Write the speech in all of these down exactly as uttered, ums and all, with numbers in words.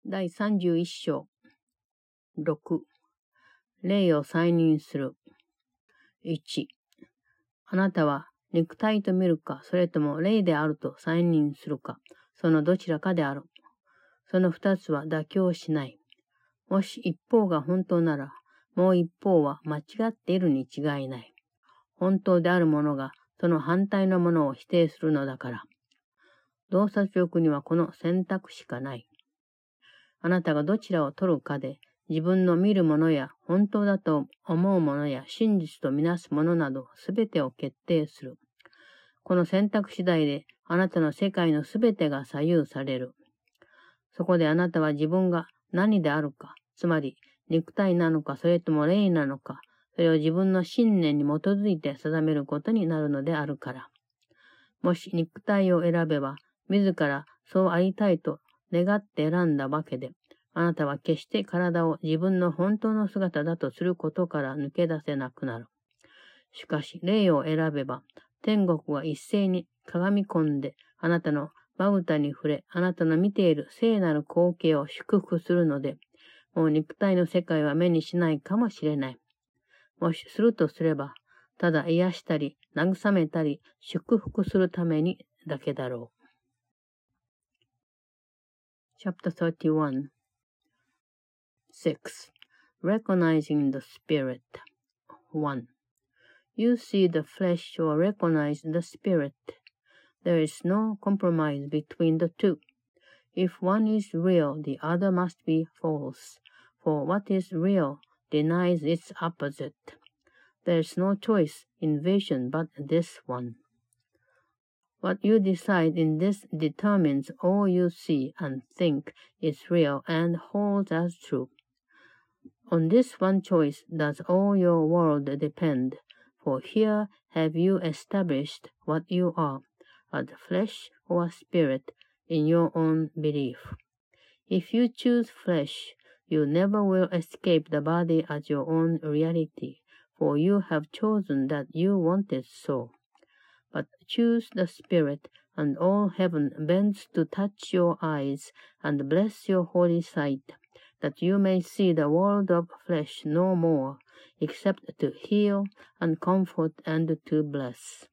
だいさんじゅういっ章ろく霊を再認する。いちあなたは肉体と見るか、それとも霊であると再認するか、そのどちらかである。その二つは妥協しない。もし一方が本当なら、もう一方は間違っているに違いない。本当であるものがその反対のものを否定するのだから。洞察力にはこの選択しかない。あなたがどちらを取るかで、自分の見るものや本当だと思うものや真実とみなすものなどすべてを決定する。この選択次第であなたの世界のすべてが左右される。そこであなたは自分が何であるか、つまり肉体なのかそれとも霊なのか、それを自分の信念に基づいて定めることになるのであるから。もし肉体を選べば、自らそうありたいと願って選んだわけで、あなたは決して体を自分の本当の姿だとすることから抜け出せなくなる。しかし、霊を選べば、天国は一斉に鏡込んで、あなたのまぶたに触れ、あなたの見ている聖なる光景を祝福するので、もう肉体の世界は目にしないかもしれない。もしするとすれば、ただ癒したり、慰めたり、祝福するためにだけだろう。Chapter thirty-one six Recognizing the Spirit one You see the flesh or recognize the spirit. There is no compromise between the two. If one is real, the other must be false, for what is real denies its opposite. There is no choice in vision but this one. What you decide in this determines all you see and think is real and holds as true. On this one choice does all your world depend, for here have you established what you are, as flesh or spirit, in your own belief. If you choose flesh, you never will escape the body as your own reality, for you have chosen that you want it so. But choose the spirit, and all heaven bends to touch your eyes and bless your holy sight, that you may see the world of flesh no more, except to heal and comfort and to bless.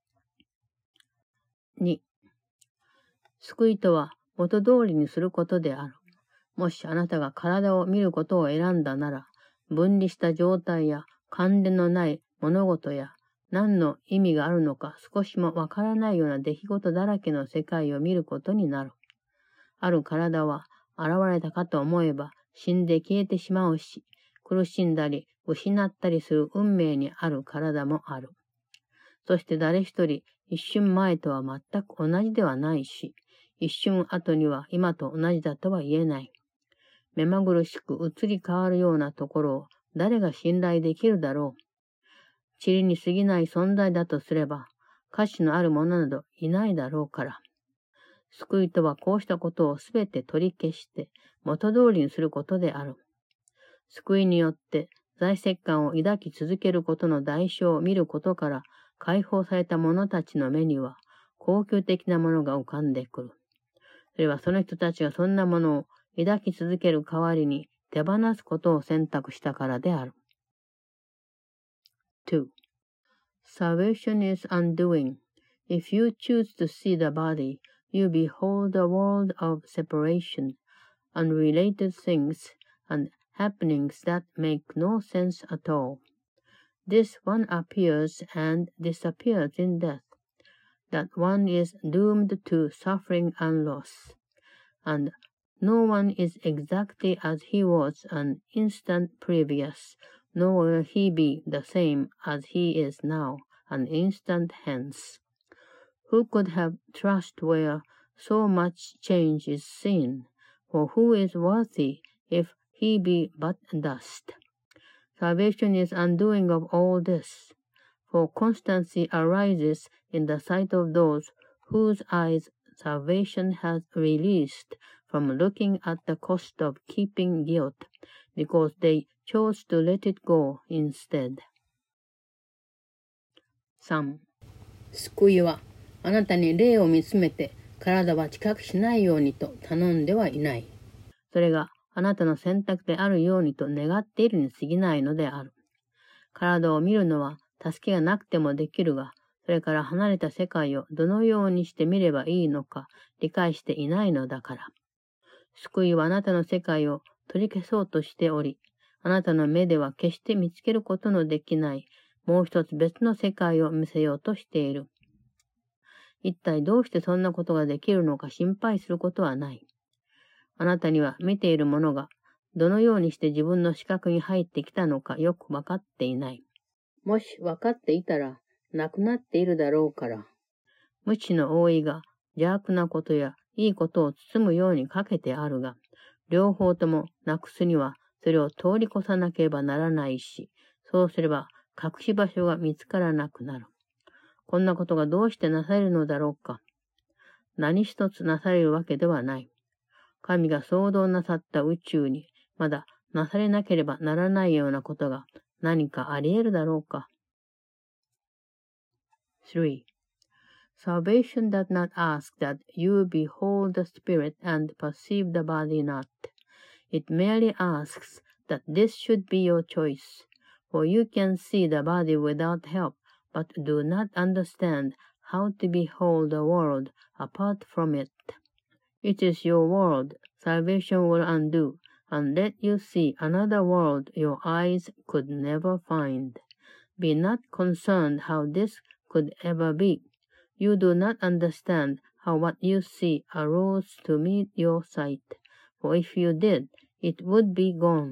に救いとは元通りにすることである。もしあなたが体を見ることを選んだなら、分離した状態や関連のない物事や何の意味があるのか少しもわからないような出来事だらけの世界を見ることになる。ある体は現れたかと思えば死んで消えてしまうし、苦しんだり失ったりする運命にある体もある。そして誰一人一瞬前とは全く同じではないし、一瞬後には今と同じだとは言えない。目まぐるしく移り変わるようなところを誰が信頼できるだろう。塵に過ぎない存在だとすれば、価値のあるものなどいないだろうから。救いとはこうしたことをすべて取り消して元通りにすることである。救いによって在籍感を抱き続けることの代償を見ることから解放された者たちの目には高級的なものが浮かんでくる。それはその人たちがそんなものを抱き続ける代わりに手放すことを選択したからである。two. Salvation is undoing. If you choose to see the body, you behold a world of separation, unrelated things, and happenings that make no sense at all. This one appears and disappears in death. That one is doomed to suffering and loss. And no one is exactly as he was an instant previous, nor will he be the same as he is now, an instant hence. Who could have trust where so much change is seen? For who is worthy if he be but dust? Salvation is undoing of all this, for constancy arises in the sight of those whose eyes salvation has released from looking at the cost of keeping guilt, because they chose to let it go instead. さん. 救いはあなたに霊を見つめて体は知覚しないようにと頼んではいない。 それがあなたの選択であるようにと願っているに過ぎないのである。体を見るのは助けがなくてもできるが、それから離れた世界をどのようにして見ればいいのか理解していないのだから。救いはあなたの世界を取り消そうとしており、あなたの目では決して見つけることのできない、もう一つ別の世界を見せようとしている。一体どうしてそんなことができるのか心配することはない。あなたには見ているものが、どのようにして自分の視覚に入ってきたのかよくわかっていない。もしわかっていたら、なくなっているだろうから。無知の覆いが邪悪なことやいいことを包むようにかけてあるが、両方ともなくすにはそれを通り越さなければならないし、そうすれば隠し場所が見つからなくなる。こんなことがどうしてなされるのだろうか。何一つなされるわけではない。神が創造なさった宇宙にまだなされなければならないようなことが何かあり得るだろうか。three. Salvation does not ask that you behold the spirit and perceive the body not. It merely asks that this should be your choice, for you can see the body without help, but do not understand how to behold the world apart from it. It is your world salvation will undo, and let you see another world your eyes could never find. Be not concerned how this could ever be. You do not understand how what you see arose to meet your sight, for if you did, it would be gone.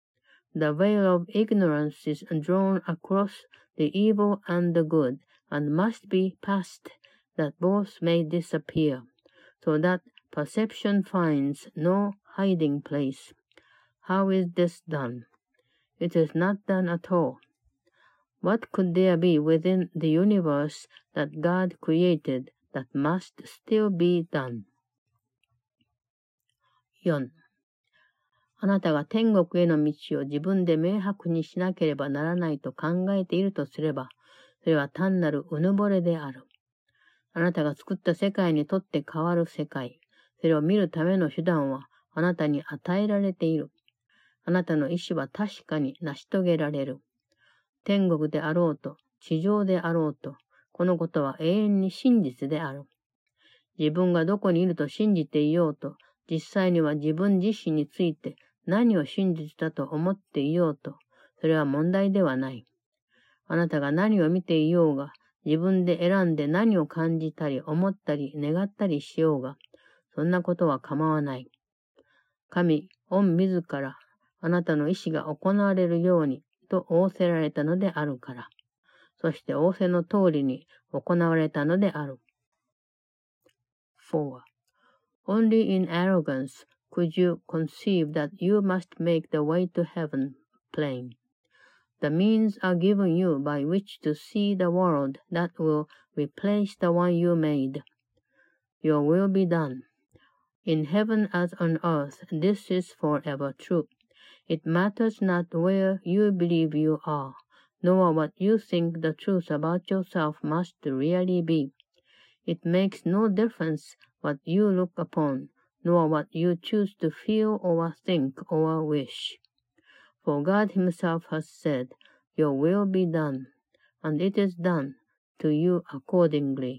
The veil of ignorance is drawn across the evil and the good, and must be passed, that both may disappear, so that perception finds no hiding place. How is this done? It is not done at all. What could there be within the universe that God created that must still be done? よん. あなたが天国への道を自分で明白にしなければならないと考えているとすれば、それは単なるうぬぼれである。あなたが作った世界にとって変わる世界、それを見るための手段はあなたに与えられている。あなたの意志は確かに成し遂げられる。天国であろうと、地上であろうと、このことは永遠に真実である。自分がどこにいると信じていようと、実際には自分自身について何を真実だと思っていようと、それは問題ではない。あなたが何を見ていようが、自分で選んで何を感じたり思ったり願ったりしようが、そんなことは構わない。神、御自ら、あなたの意志が行われるように、と仰せられたのであるから。そして仰せの通りに行われたのである。four. Only in arrogance could you conceive that you must make the way to heaven plain. The means are given you by which to see the world that will replace the one you made. Your will be done. In heaven as on earth, this is forever true. It matters not where you believe you are, nor what you think the truth about yourself must really be. It makes no difference what you look upon, nor what you choose to feel or think or wish. For God himself has said, Your will be done, and it is done to you accordingly.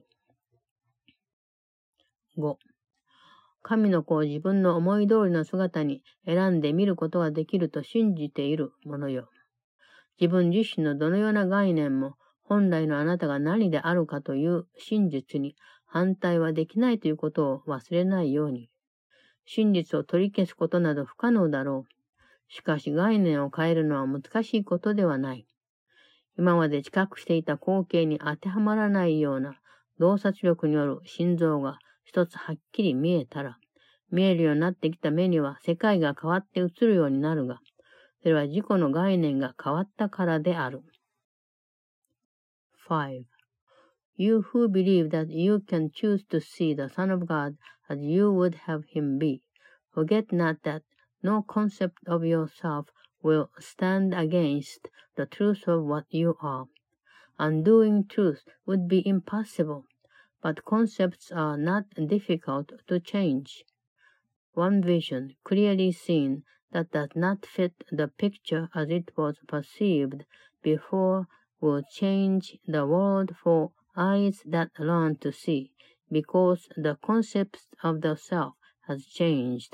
ご. 神の子を自分の思い通りの姿に選んで見ることができると信じているものよ。自分自身のどのような概念も本来のあなたが何であるかという真実に反対はできないということを忘れないように。真実を取り消すことなど不可能だろう。しかし概念を変えるのは難しいことではない。今まで知覚していた光景に当てはまらないような洞察力による心臓が一つはっきり見えたら、見えるようになってきた目には世界が変わって映るようになるが、それは自己の概念が変わったからである。five. You who believe that you can choose to see the Son of God as you would have him be, forget not that no concept of yourself will stand against the truth of what you are. Undoing truth would be impossible, but concepts are not difficult to change. one vision, clearly seen, that does not fit the picture as it was perceived before will change the world for eyes that learn to see, because the concept of the self has changed.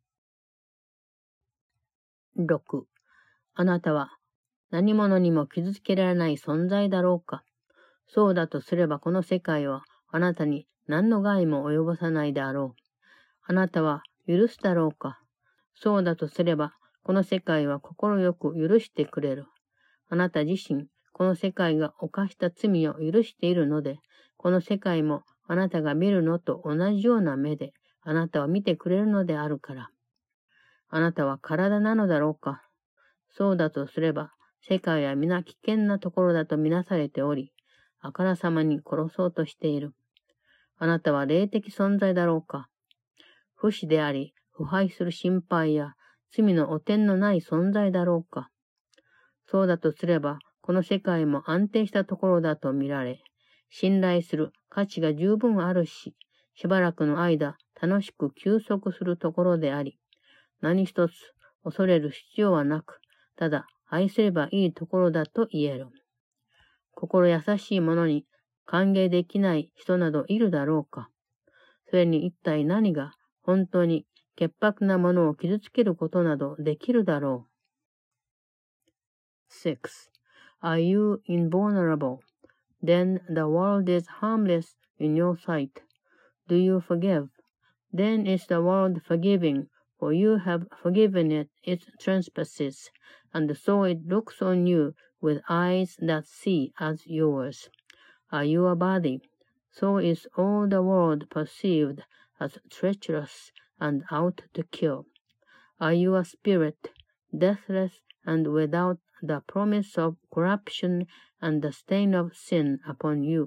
ろく. あなたは何者にも傷つけられない存在だろうか。そうだとすればこの世界はあなたに何の害も及ぼさないであろう。あなたは許すだろうか。そうだとすればこの世界は心よく許してくれる。あなた自身、この世界が犯した罪を許しているので、この世界もあなたが見るのと同じような目であなたを見てくれるのであるから。あなたは体なのだろうか。そうだとすれば、世界は皆危険なところだとみなされており、あからさまに殺そうとしている。あなたは霊的存在だろうか。不死であり、腐敗する心配や罪の汚点のない存在だろうか。そうだとすれば、この世界も安定したところだと見られ、信頼する価値が十分あるし、しばらくの間楽しく休息するところであり、何一つ恐れる必要はなく、ただ愛すればいいところだと言える。心優しい者に歓迎できない人などいるだろうか。それに一体何が本当に潔白なものを傷つけることなどできるだろう。six. Are you invulnerable? Then the world is harmless in your sight. Do you forgive? Then is the world forgiving, for you have forgiven it its trespasses, and so it looks on you with eyes that see as yours. Are you a body? So is all the world perceived as treacherous and out to kill. Are you a spirit, deathless and without the promise of corruption and the stain of sin upon you?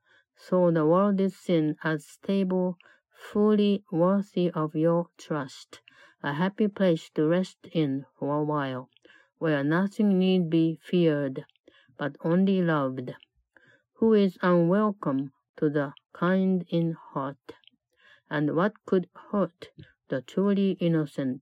So the world is seen as stable, fully worthy of your trust, a happy place to rest in for a while, where nothing need be feared, but only loved. Who is unwelcome to the kind in heart? And what could hurt the truly innocent?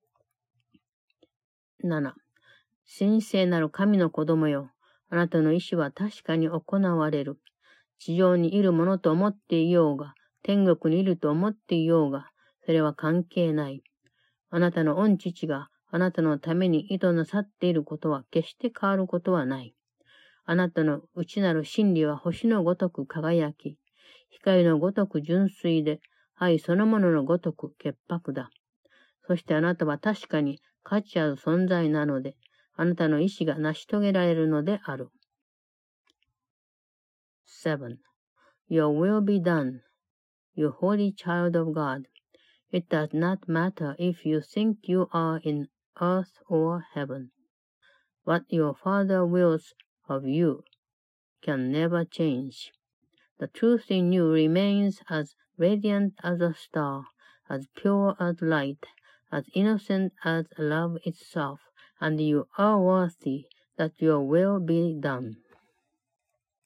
なな. 神聖なる神の子供よ。あなたの意志は確かに行われる。地上にいるものと思っていようが、天国にいると思っていようが、それは関係ない。あなたの御父があなたのために意図なさっていることは決して変わることはない。あなたの内なる真理は星のごとく輝き、光のごとく純粋で、愛そのもののごとく潔白だ。そしてあなたは確かに価値ある存在なので、あなたの意志が成し遂げられるのである。seven. Your will be done, you holy child of God. It does not matter if you think you are in earth or heaven. What your Father wills of you can never change. The truth in you remains as radiant as a star, as pure as light, as innocent as love itself, and you are worthy that your will be done.